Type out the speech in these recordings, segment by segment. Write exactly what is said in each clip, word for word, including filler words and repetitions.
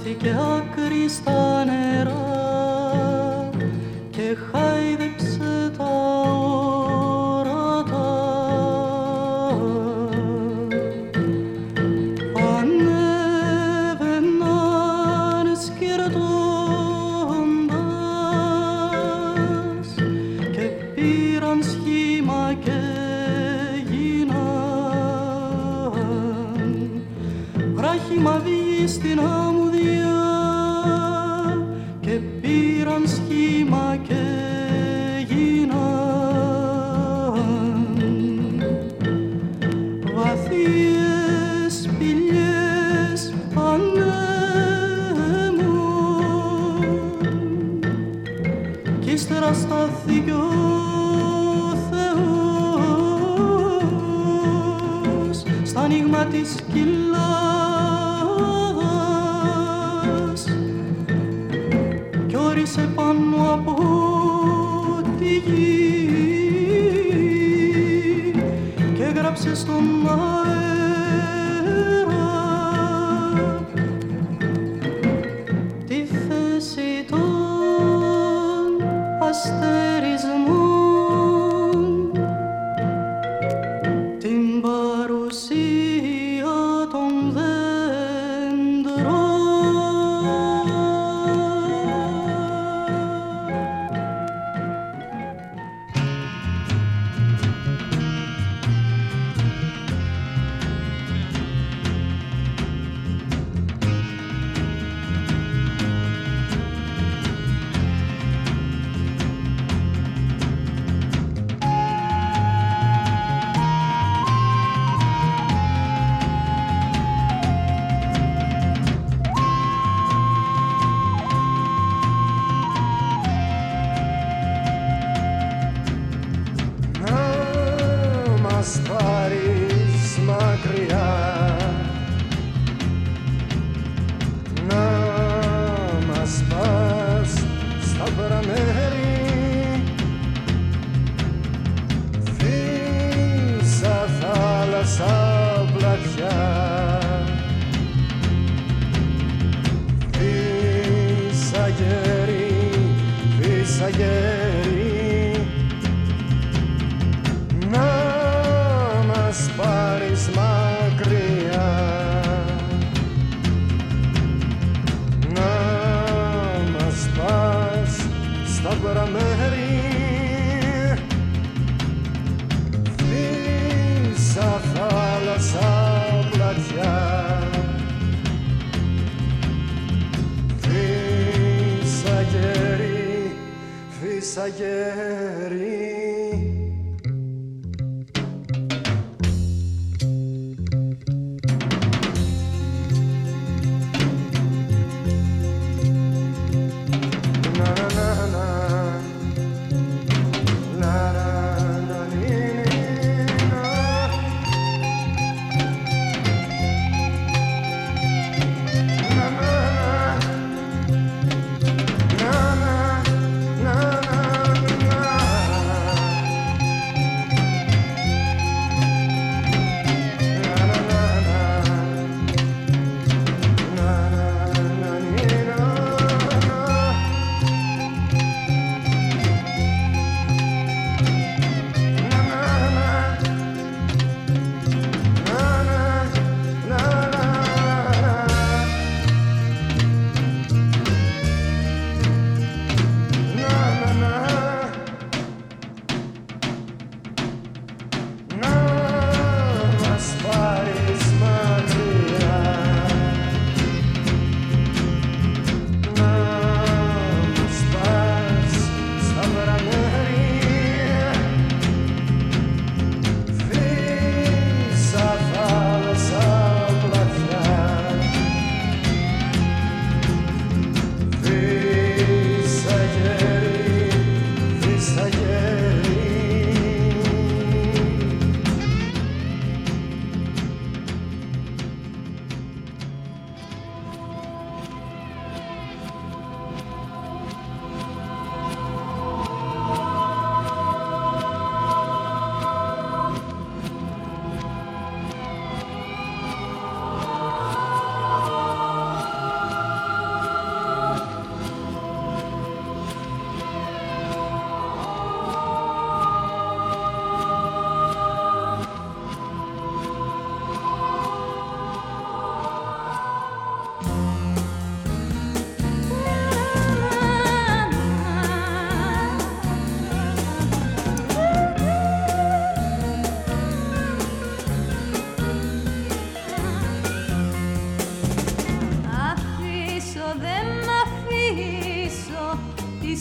χάθηκε άκρη στα νερά και χάιδεψε τα όρατα. Ανέβαιναν σκυρτώντας και πήραν σχήμα και γίναν βράχημα βγει στην αμμουδιά και πήραν σχήμα και γίναν βαθιές σπηλιές ανέμουν κι ύστερα στάθηκε ο Θεός στα ανοίγμα της κοιλάδας κι όρισε πάνω από τη γη και έγραψε στον αέρα τη θέση των αστερισμών, την παρουσία των δέντρων. Na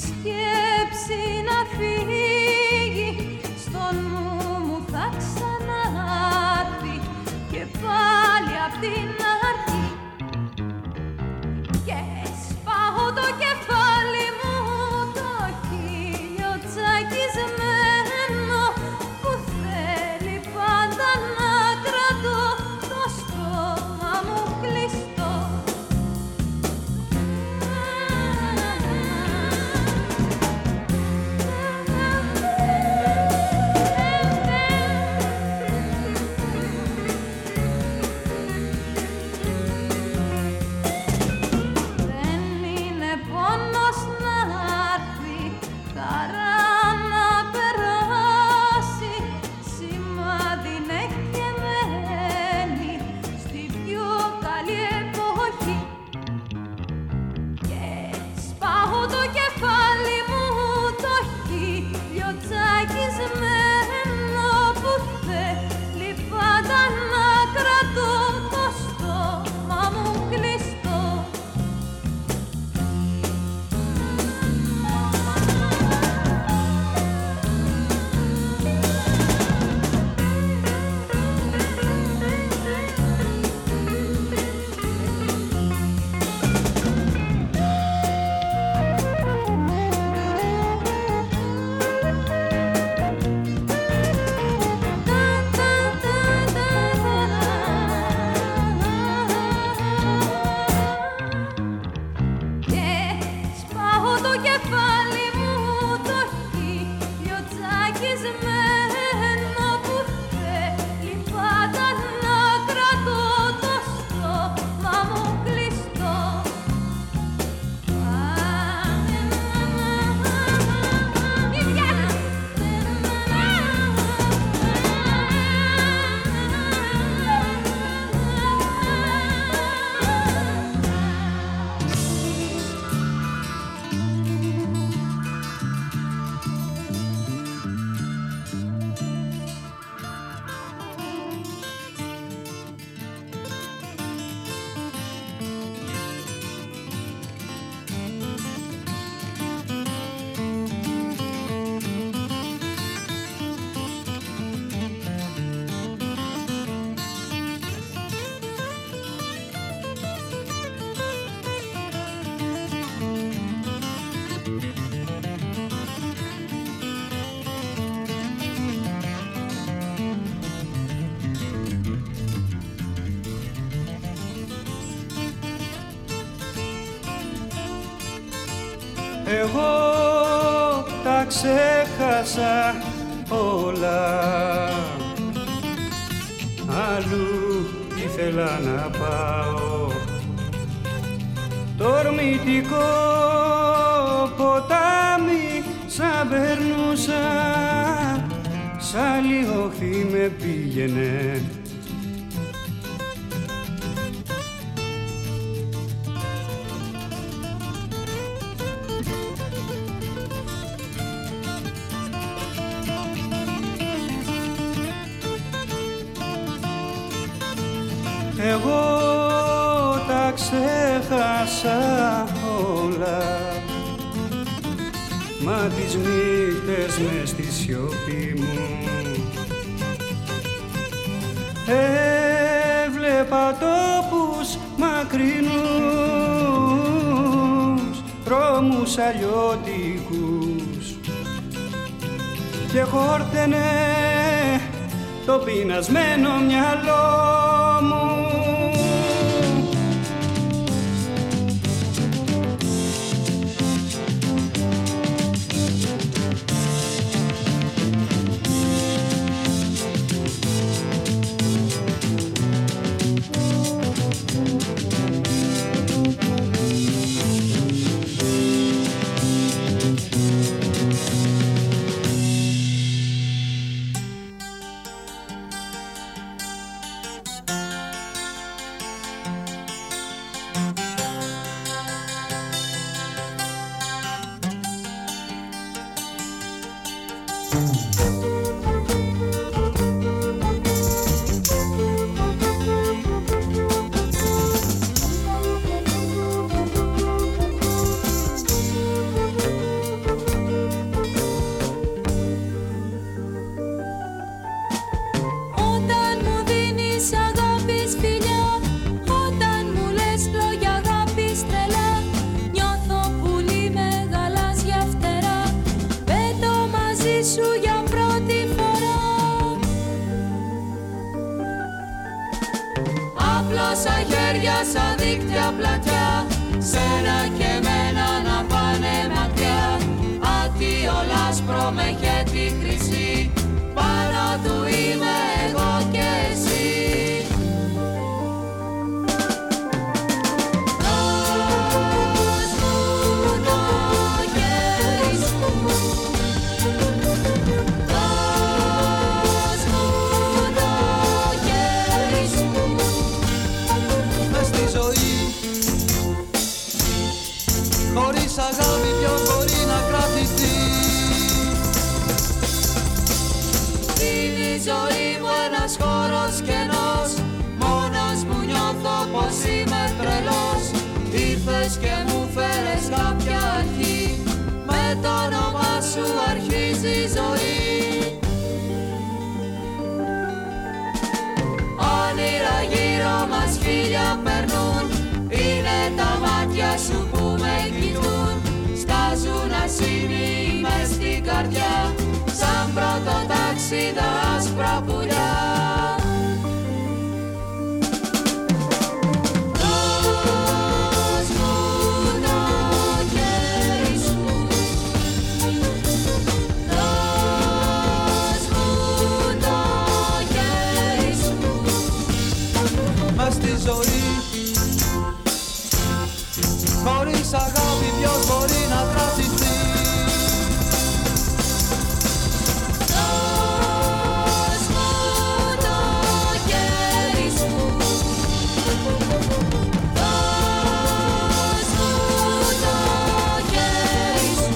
σκέψη να φύγει, στο νου μου θα ξανάρθει και πάλι απ' την αρχή. Και σπάω το κεφάλι μου, το χείλιο τσακισμένο, που θέλει πάντα να κρατώ το στόμα μου κλειστό. Εγώ τα ξέχασα όλα, αλλού ήθελα να πάω. Τορμητικό ποτάμι σαν περνούσα, σαν λιωχθή με πήγαινε. Εγώ τα ξέχασα όλα, μα τις νύχτες μες στη σιωπή μου έβλεπα τόπους μακρινούς, δρόμους αλλιώτικους και χόρτενε το πεινασμένο μυαλό μου. σαν δίκτυα πλατιά, σένα και εμένα να πάνε μακριά. Άτιο λάσπρο με χέτη χρυσή, πάνω του είμαι εγώ και εσύ. Χωρίς αγάπη ποιος μπορεί να κρατηθεί? Είναι η ζωή μου ένας χώρος κενός, μόνος μου νιώθω πως είμαι τρελός. Ήρθες και μου φέρες κάποια αρχή, με το όνομά σου αρχίζει η ζωή. Όνειρα γύρω μας χίλια περνούν, είναι τα μάτια σου που με κοιτούν. Στάζουν ασήμοι μες στην καρδιά, σαν πρώτο τάξη τα άσπρα πουλιά. Δώσ' μου το χέρι σου, δώσ' μου το χέρι σου. Μες στη ζωή χωρίς αγάπη ποιος μπορεί να κρατηθεί? Δώσ' μου το χέρι σου, δώσ' μου το χέρι σου.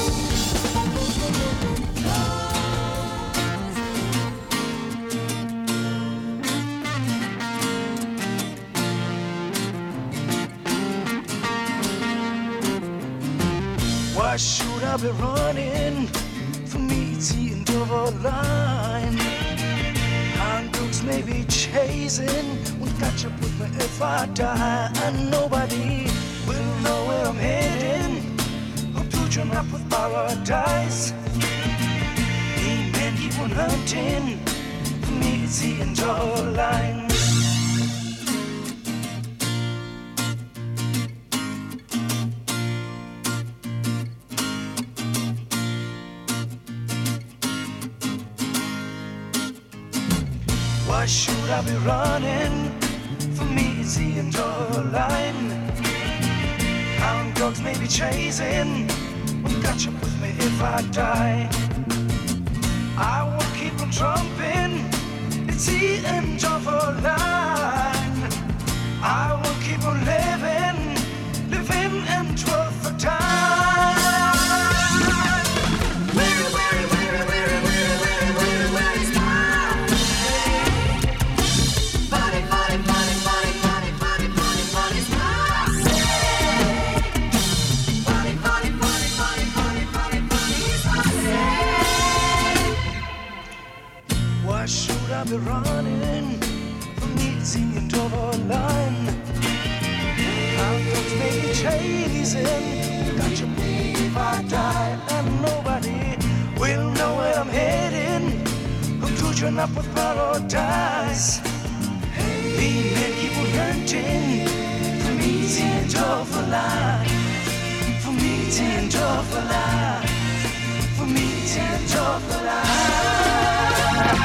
Why should I be running? For me it's the end of a line. Hand dogs may be chasing, won't catch up with me if I die. And nobody will know where I'm heading. I'll put you up with paradise. Amen, keep on hunting. For me it's the end of a line. Why should I be running? For me it's the end of a line. Hound dogs may be chasing, won't catch up with me if I die. I will keep on trumping, it's the end of a line. I will keep on living, living and worth the time. Weary, weary, weary, weary, weary, weary, weary, weary is mine. Funny, funny, funny, funny, funny, funny, funny, funny is mine. Funny, funny, funny, funny, funny, funny, funny is mine. Why should I be running? For me it's the end of a line. How dogs may be chasing, got you if I die. And nobody will know where I'm heading. I'm touching up with paradise. The men keep on hurting. For me it's the end of a line. For me it's the end of a line. For me it's the end of a line.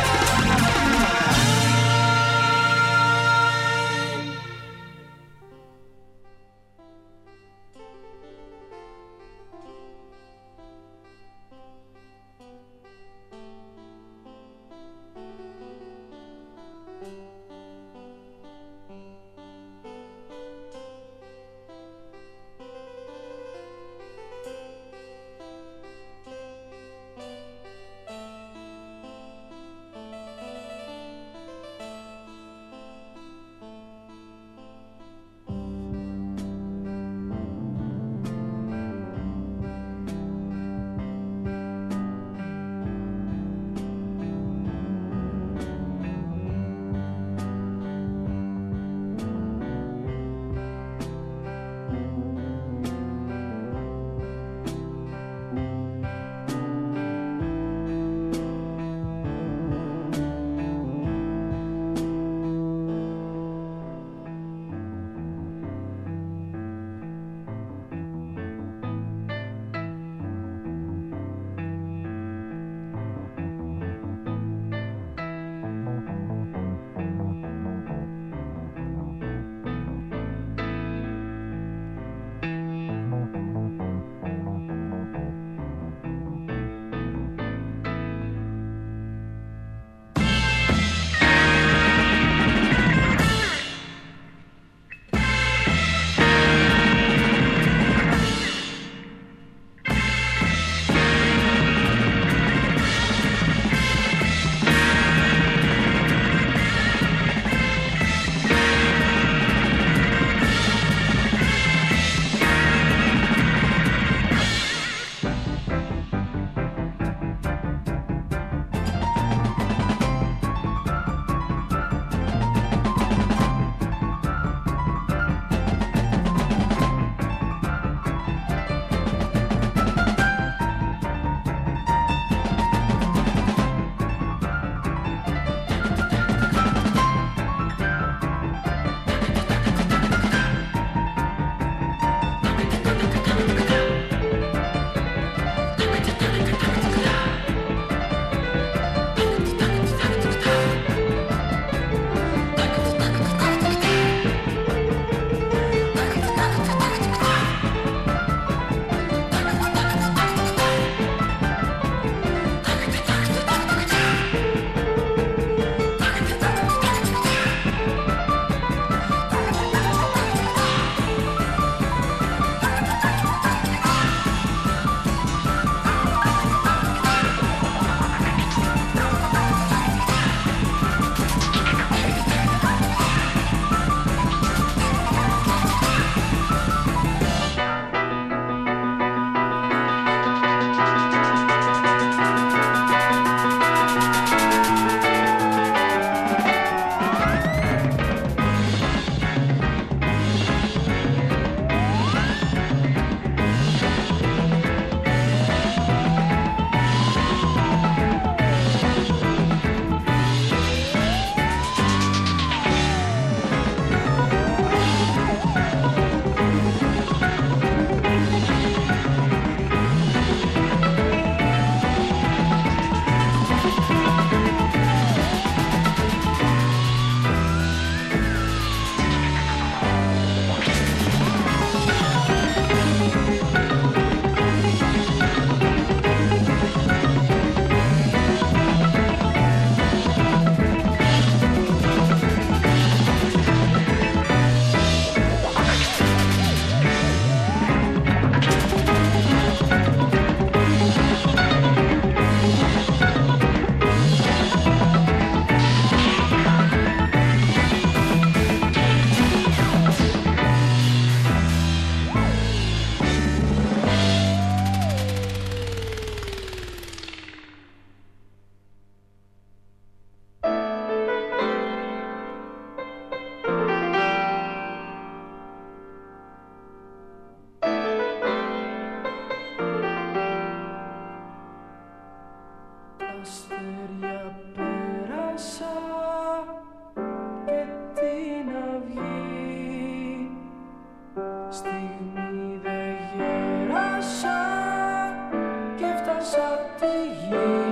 στιγμή δε γέρασα και φτάσα τη γη.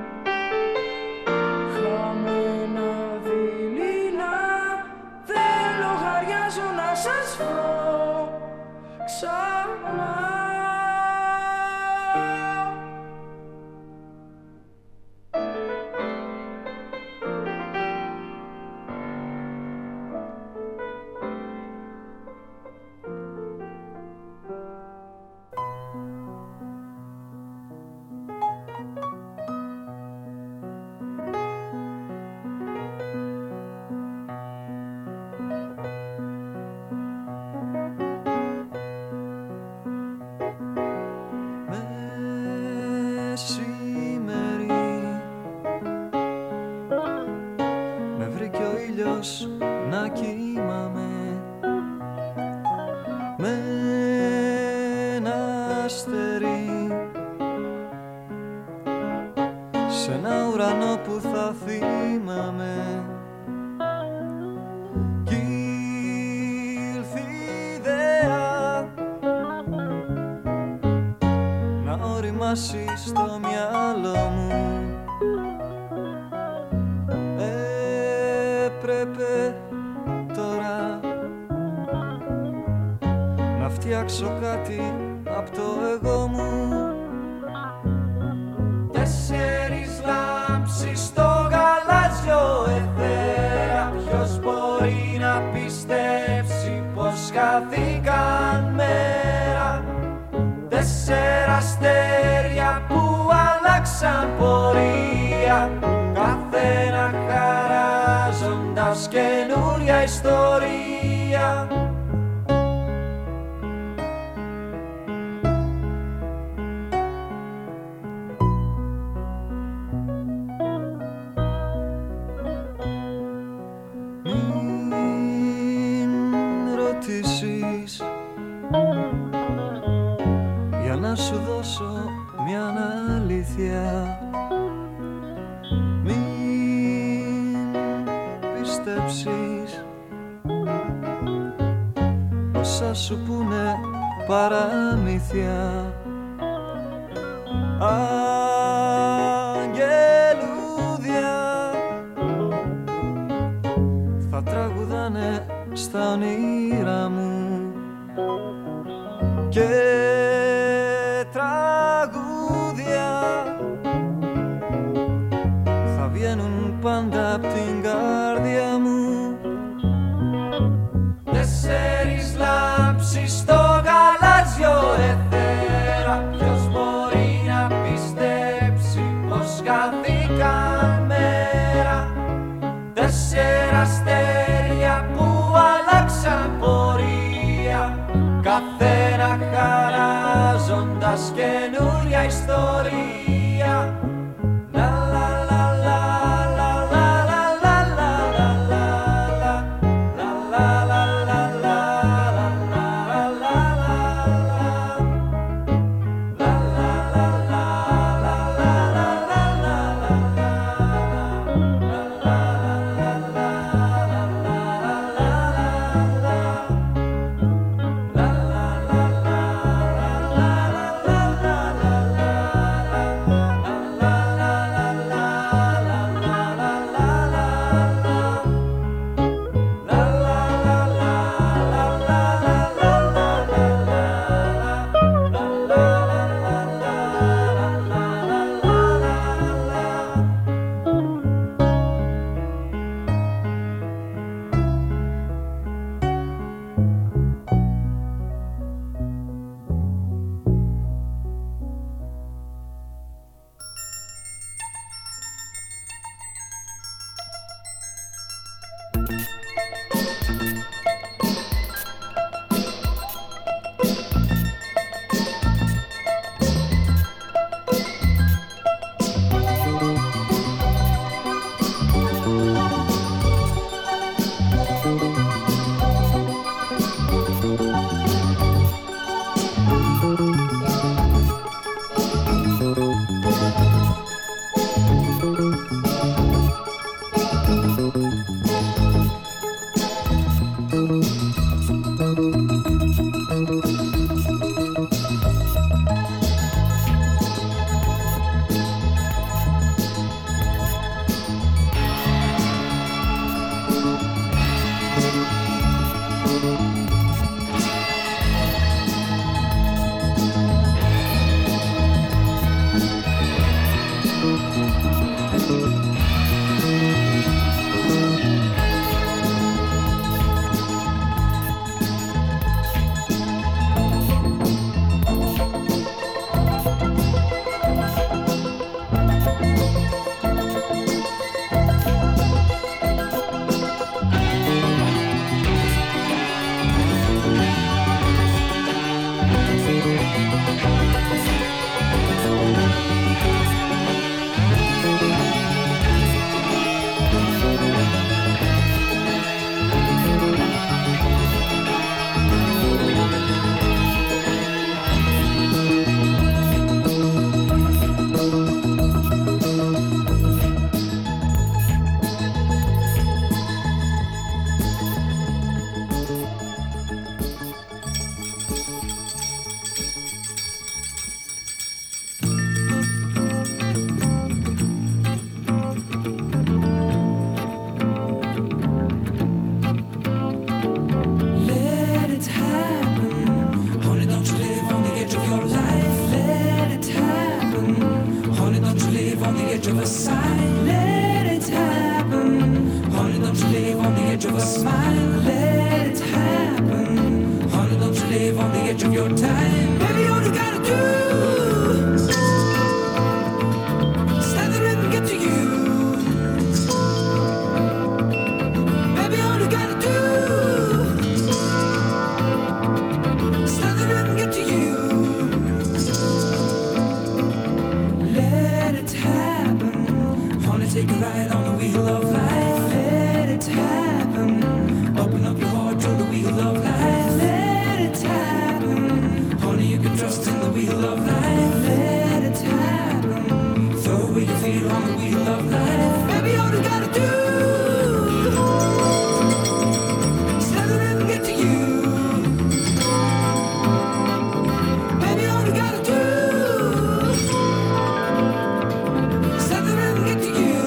Χαμένα δειλινά δεν λογαριάζω να σας βρω ξανά. Να κοιμάμαι με ένα αστέρι σε ένα ουρανό που θα θυμάμαι. Κι ήλθε η ιδέα να οριμάσει στο μυαλό μου. Έπρεπε τώρα να φτιάξω κάτι απ' το εγώ μου. Τέσσερις λάμψεις στο γαλάζιο αιθέρα. Ποιος μπορεί να πιστέψει πως χάθηκαν μέρα. Τέσσερα αστέρια που αλλάξαν πορεία, καθένα χαράζοντας καινούρια ιστορία. Μην ρωτήσεις για να σου δώσω μια αλήθεια. Μην πιστέψεις όσα σου πούνε παραμύθια. Αγγελούδια θα τραγουδάνε στα όνειρά μου και τραγούδια θα βγαίνουν πάντα απ' την καρδιά μου. Τέσσερις λάμψεις στο γαλάζιο αιθέρα. Ποιος μπορεί να πιστέψει πως χάθηκαν μέρα. Τέσσερα αστέρια που αλλάξαν πορεία, καθένα χαράζοντας καινούρια ιστορία. live on the edge of your time. Baby, all you gotta do is let the rhythm get to you. Baby, all you gotta do is let the rhythm get to you. Let it happen. Wanna take a ride on the wheel of life. Let it happen. Open up your heart to the wheel of life. Let it happen. Only you can trust in the wheel of life. Let it happen. Throw away your fear on the wheel of life. Baby, all you gotta do is let the rhythm get to you. Baby, all you gotta do is let the rhythm get to you.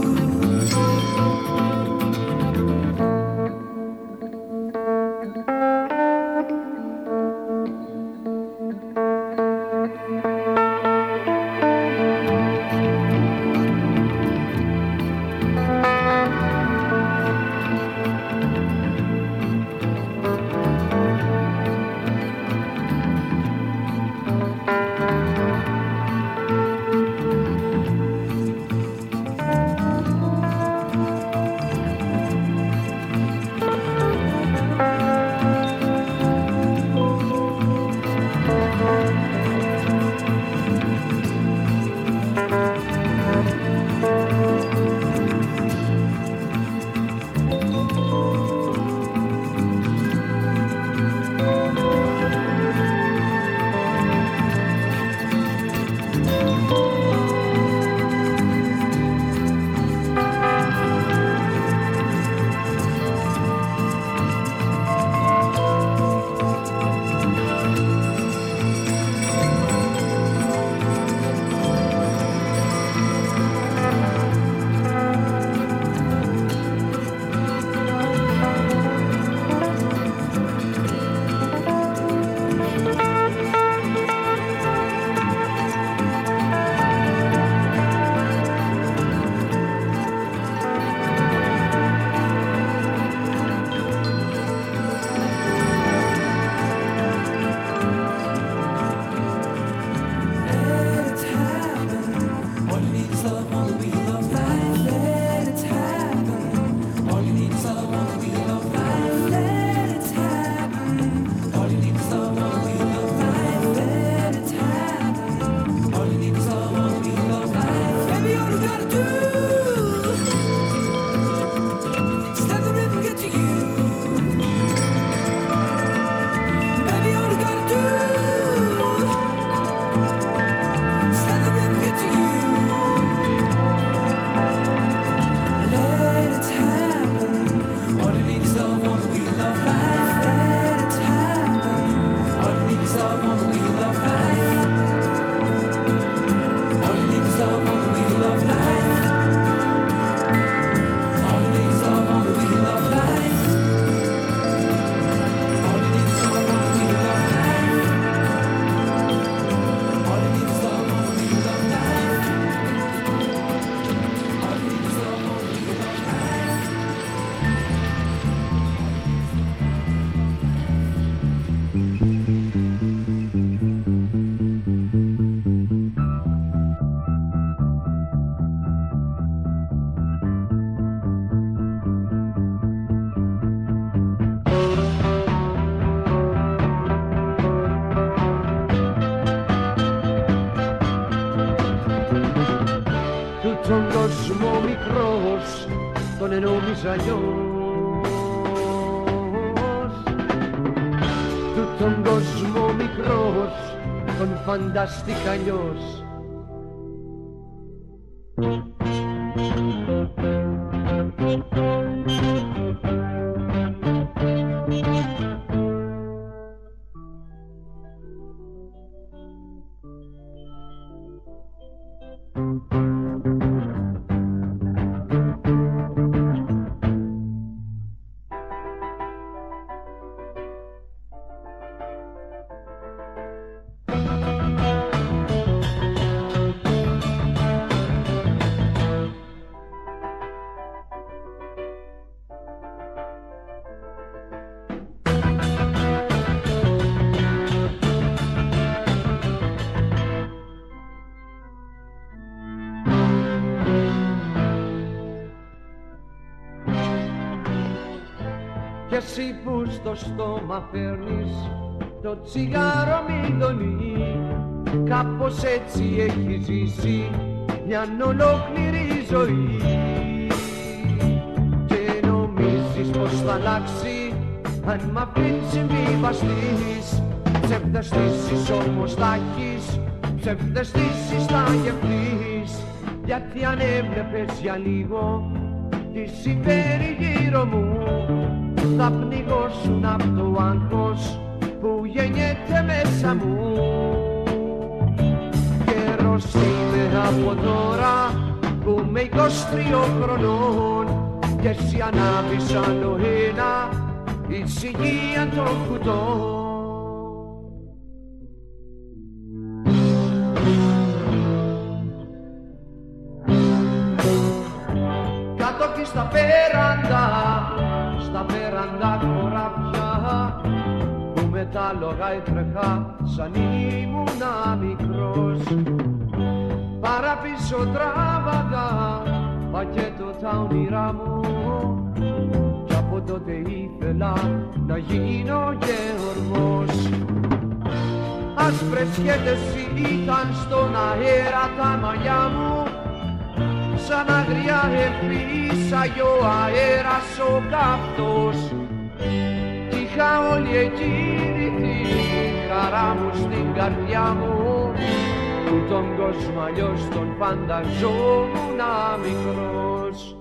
Τον κόσμο μικρός τον εννοείς αλλιώς. Του τον κόσμο μικρός τον φανταστήκα αλλιώς. εσύ που στο στόμα φέρνεις το τσιγάρο μηδονί, κάπως έτσι έχει ζήσει μια ολόκληρη ζωή και νομίζεις πως θα αλλάξει αν μ' αφήνεις συμβιβαστείς. Ψευδαισθήσεις όμως θα έχεις, ψευδαισθήσεις θα γευτείς, γιατί αν έβλεπες για λίγο τι συμβαίνει γύρω μου θα πνιγώσουν απ' το άγχος που γεννιέται μέσα μου. Καιρός είναι από τώρα που είμαι είκοσι τριών χρονών και εσύ ανάβεις άλλο ένα ησυχία των κουτών. Κάτω και στα πέραντα, στα πέραντα χωράφια που με τα άλογα έτρεχα σαν ήμουνα μικρός. Παραπίσω τράβαγα πακέτο τα όνειρά μου κι από τότε ήθελα να γίνω γεωργός. Άσπρες σκέτες ήταν στον αέρα τα μαλλιά μου, σαν αγριά εφήσαγε ο αέρας ο καυτός κι είχα όλη εκείνη τη χαρά μου στην καρδιά μου που τον κόσμο αλλιώς τον φανταζόμουν μικρός.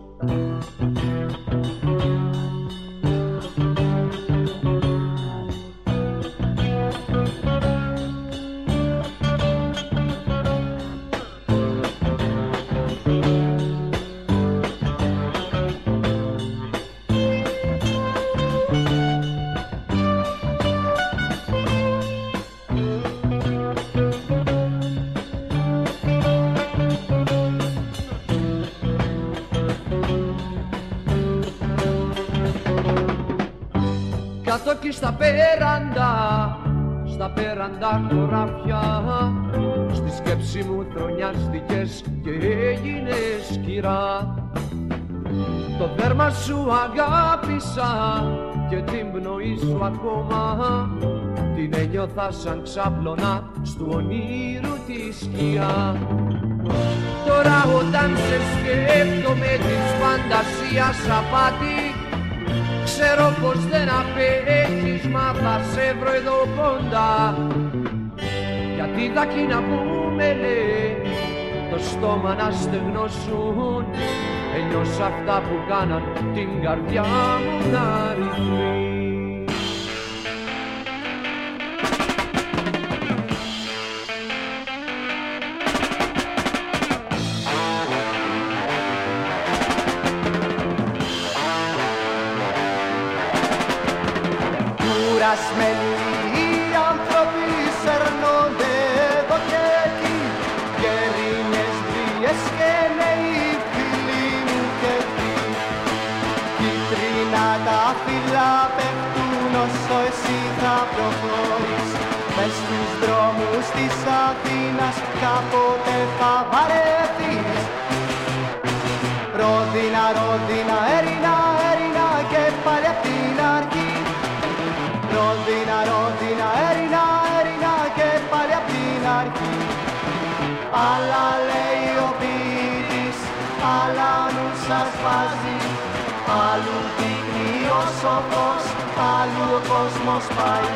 Κάτω και στα πέραντα, στα πέραντα χωράφια στη σκέψη μου τρονιάστηκες και έγινες κυρά. Το δέρμα σου αγάπησα και την πνοή σου ακόμα την ένιωθα σαν ξάπλωνα στου ονείρου τη σκιά. Τώρα όταν σε σκέφτομαι της φαντασίας απάτη ξέρω πως δεν απέχεις, μα θα σε βρω εδώ κοντά. Γιατί τα κοινά που με λέει το στόμα να στεγνώσουν, ένιωσα αυτά που κάναν την καρδιά μου να ρυθμεί. Κουρασμένοι οι άνθρωποι σέρνονται εδώ και εκεί, γερίνες, βίες και νέοι φίλοι μου και εκεί. Κίτρινα τα φύλλα πέφτουν όσο εσύ θα προχωρείς, μες στους δρόμους της Αθήνας κάποτε θα βαρεθείς. Ρόδινα, Ρόδινα, Έρινα, Έρινα και πάλι απ' την αρχή. Ρόδινα, Ρόδινα, Έρινα, Έρινα και πάλι απ' την αρχή. Άλλα λέει ο ποιητής, άλλα νου σας βάζει, άλλου δείχνει ο σοφός, άλλου ο κόσμος πάει.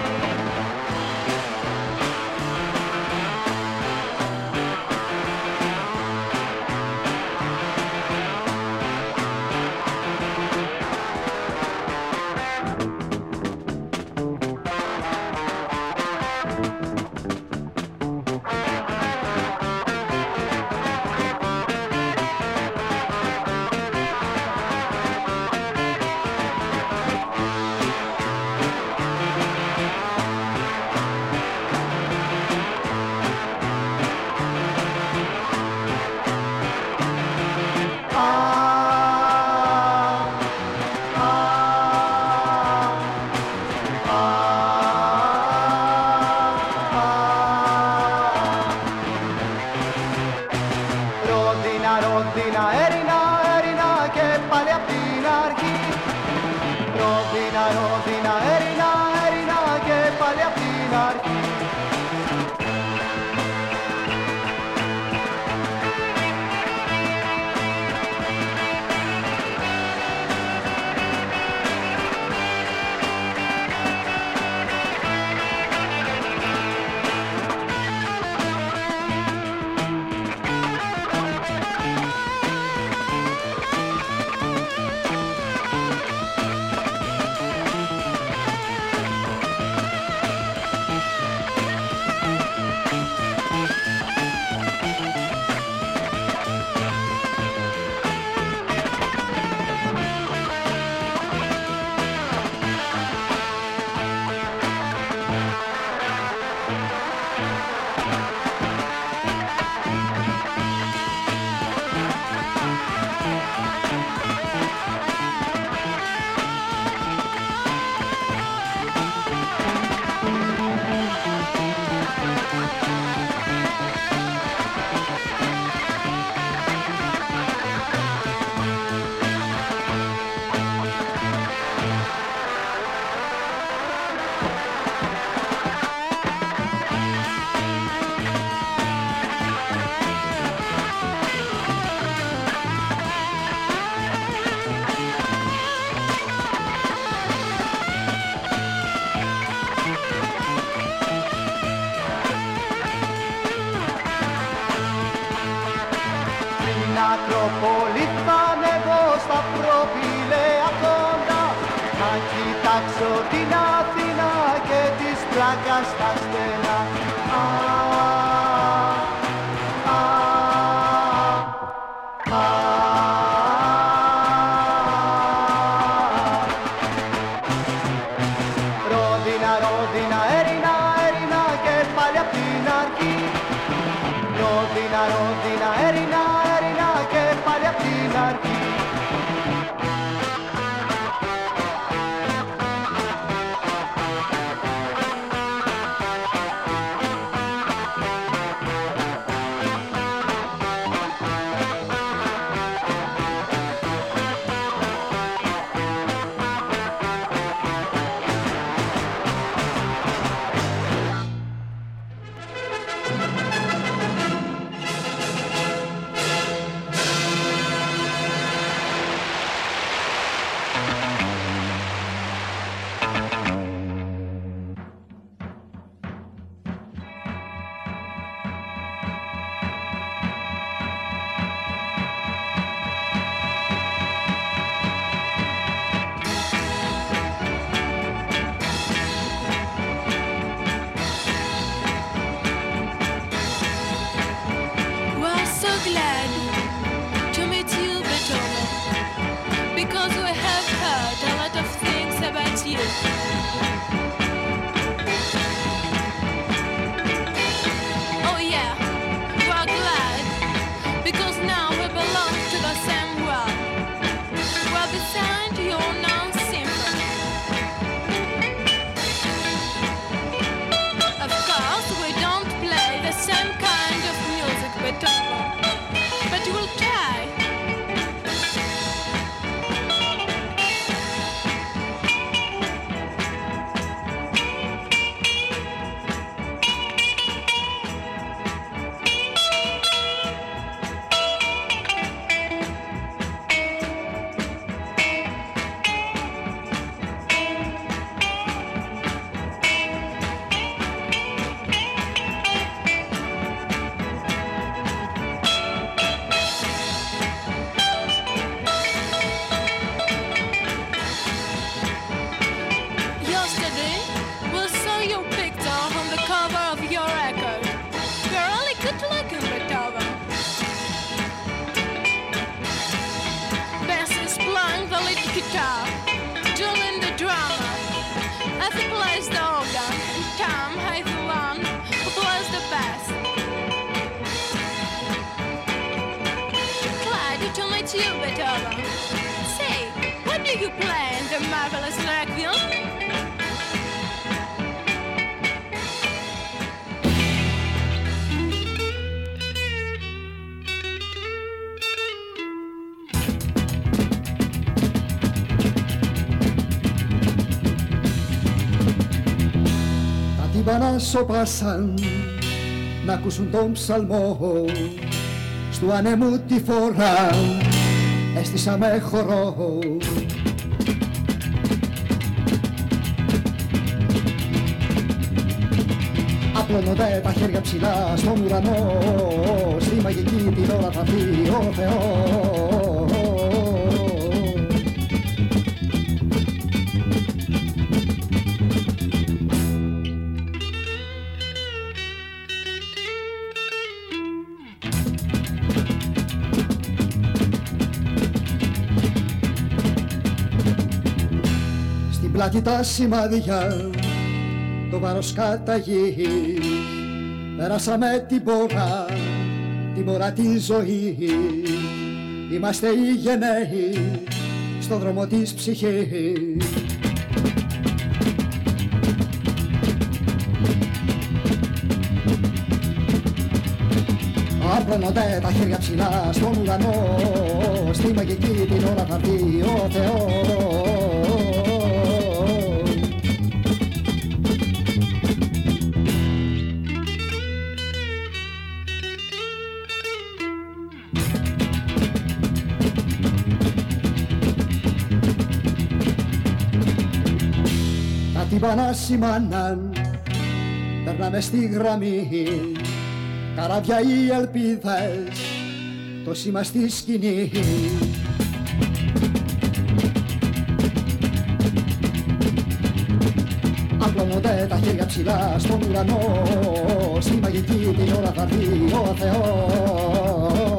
αρχή. Ακρόπολη θα ανέβω στα προπηλαία κοντά, να κοιτάξω την Αθήνα και της πλάκας τα στενά. Α, α, α, Ρόδινα, Ρόδινα, Έρινα, Έρινα και πάλι απ' την αρχή. Ρόδινα, Ρόδινα, Έρινα, Έρινα και πάλι απ' την αρχή. να σώπασαν να ακούσουν τον ψαλμό στου ανέμου τη φορά έστησα με χορό. Απλώνονται τα χέρια ψηλά στον ουρανό, στη μαγική την ώρα θα πει ο Θεός. Στην πλάτη τα σημάδια, το βάρος καταγεί, πέρασαμε την πορά, την πορά τη ζωή. Είμαστε οι γενναίοι στον δρόμο της ψυχής. Απλώνονται τα χέρια ψηλά στον ουρανό, στη μαγική την ώρα θα έρθει ο Θεός. Τύμπανα σημάναν, περνάμε στη γραμμή, καράβια οι ελπίδες, το σήμα στη σκηνή. Απλώνονται τα χέρια ψηλά στον ουρανό, στη μαγική την ώρα θα έρθει ο Θεός.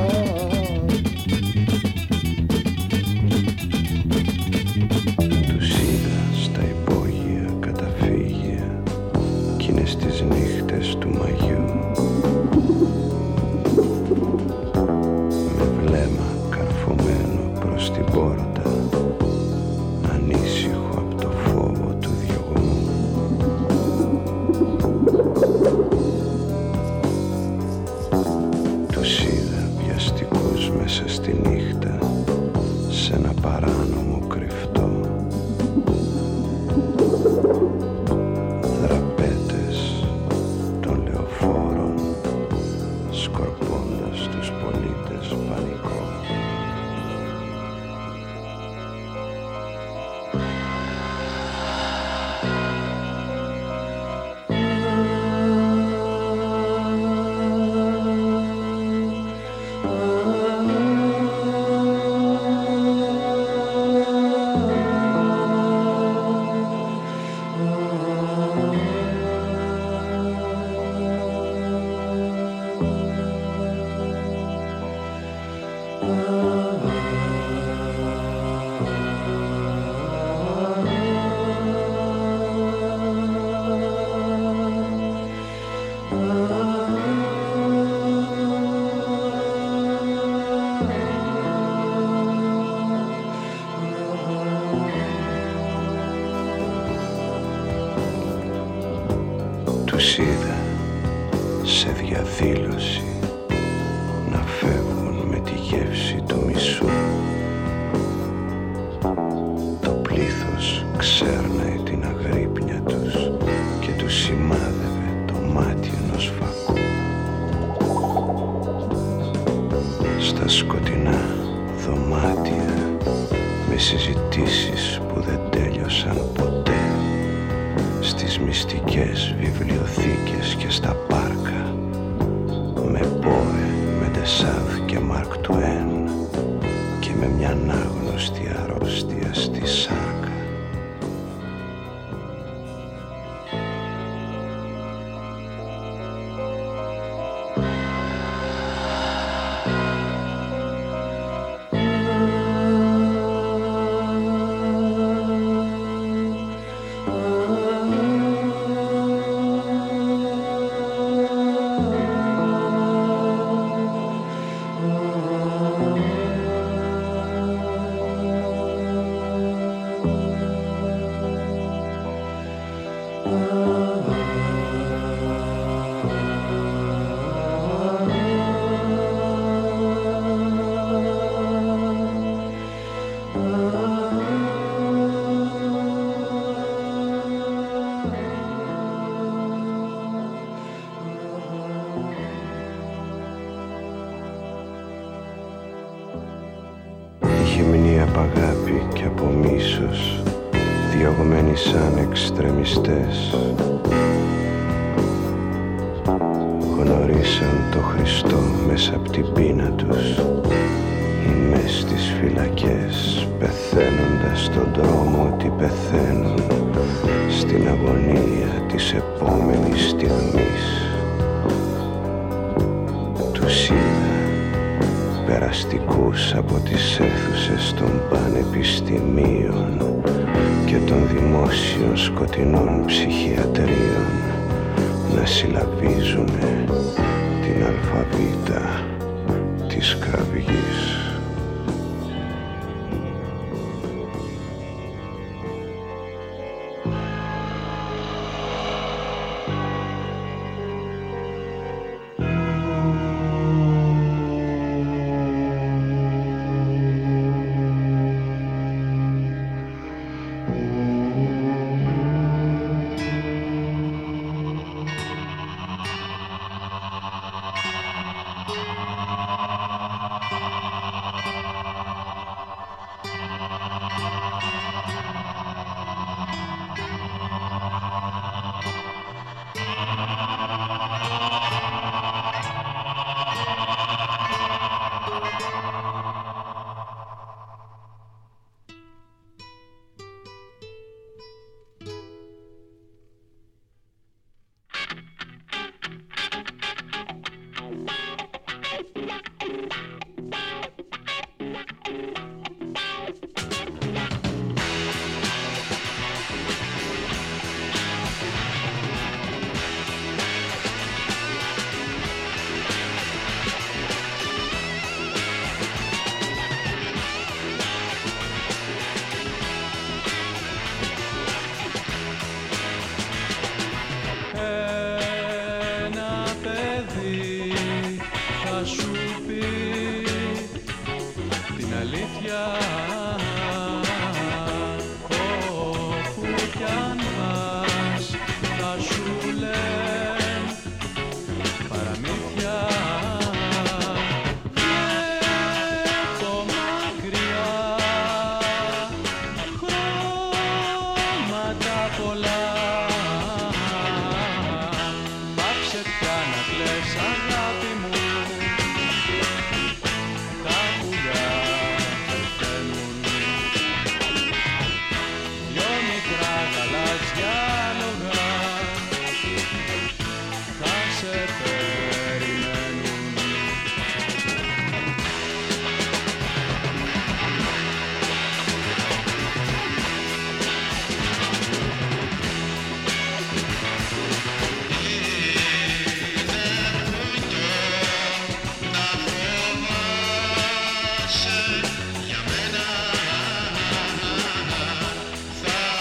Τους είδα σε διαδήλωση να φεύγουν με τη γεύση του μισού. Το πλήθος ξέρναε την αγρύπνια τους και τους σημάδευε το μάτι ενός φακού. Στα σκοτεινά δωμάτια με συζητήσεις που δεν τέλειωσαν ποτέ, στις μυστικές βιβλιοθήκες και στα πάρκα, με Πόε, με Ντεσάδ και Μαρκ Τουέν και με μια ανάγνωστη αρρώστια στη σάρκα. Διαμηνή απ' αγάπη και από μίσος, διωγμένοι σαν εξτρεμιστές. Γνωρίσαν το Χριστό μέσα απ' την πείνα τους, ή μες στις φυλακές, πεθαίνοντας στον δρόμο ότι πεθαίνουν, στην αγωνία της επόμενης στιγμής. Τους είδα περαστικούς από τις αίθουσες των πανεπιστημίων και των δημόσιων σκοτεινών ψυχιατρίων να συλλαβίζουνε την αλφαβήτα της κραυγής.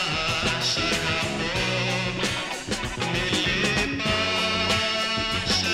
Σ'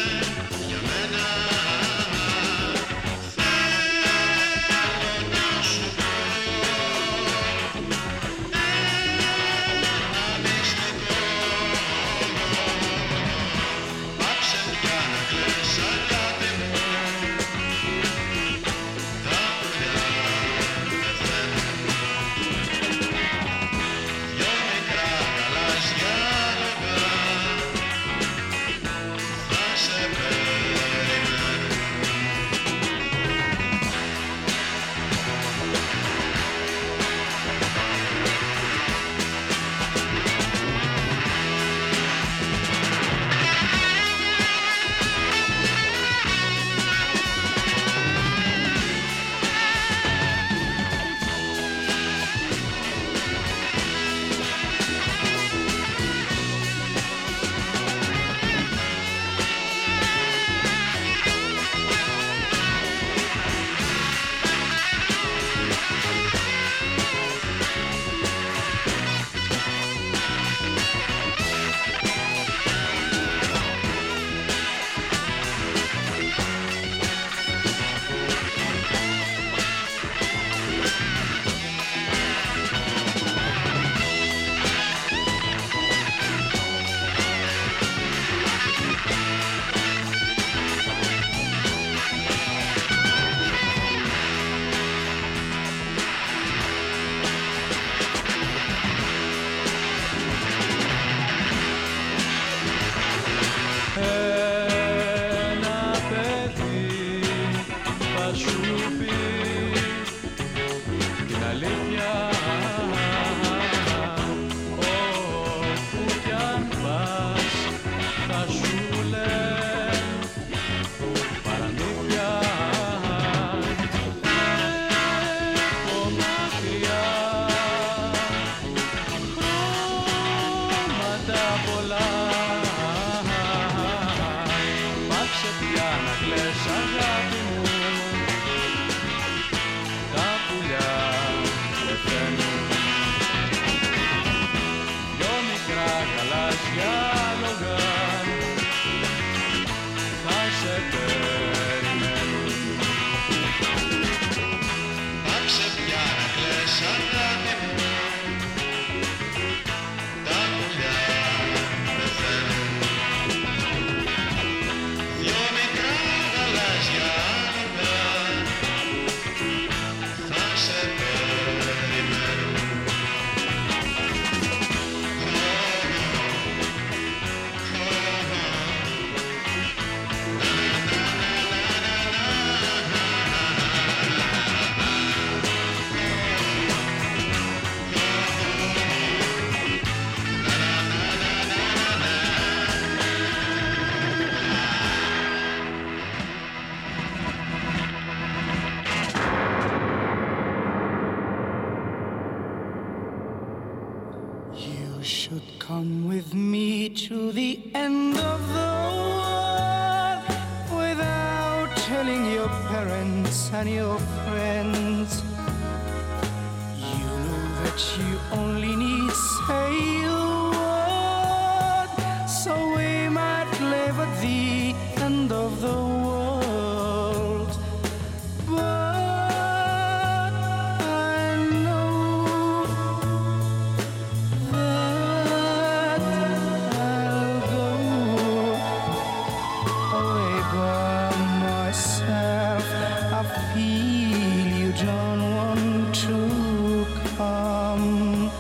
Ένα παιδί θα σου πει την αλήθεια. Όπου κι αν πας θα σου λέει παραμύθια. Από μακριά χρώματα πολλά. Πάψε πια να κλαις αγάπη μου, τα πουλιά πεθαίνουν. Δυο μικρά γαλάζια άλογα θα σε περιμένουν. Πάψε πια να κλαις αγάπη μου, τα πουλιά πεθαίνουν. Δυο μικρά γαλάζια άλογα θα σε περιμένουν. You should come with me to the end of the world without telling your parents and your friends. You know that you only need say a word, so we might live at the end of the world. But I know that I'll go away by myself. I feel you don't want to come.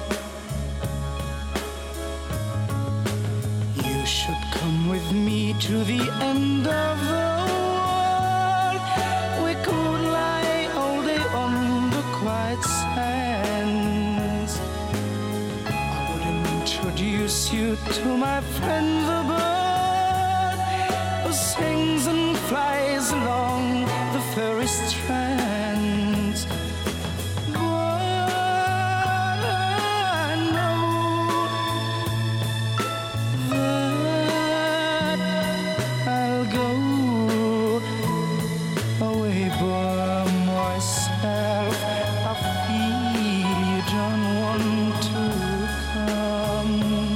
You should come with me to the end of the world. We could lie all day on the quiet sands. I would introduce you to my friend the bird who sings and flies along the fairy strands. But I know that I'll go away by myself. I feel you don't want to come.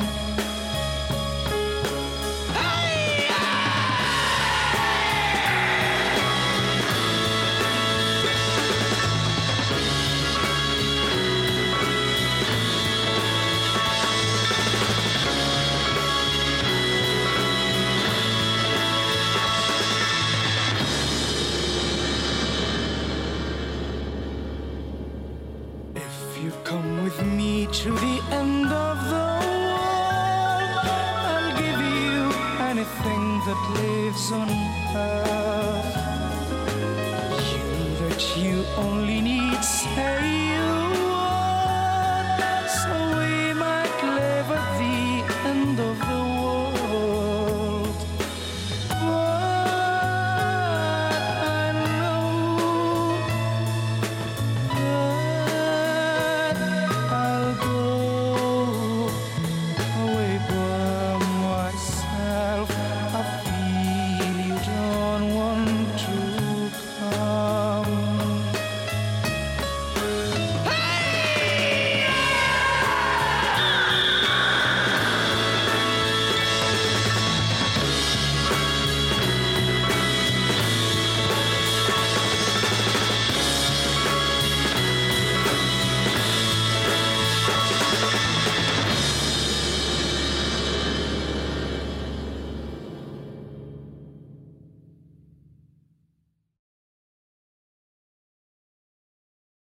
If you come with me to the end of the world, I'll give you anything that lives on earth. You that you only need say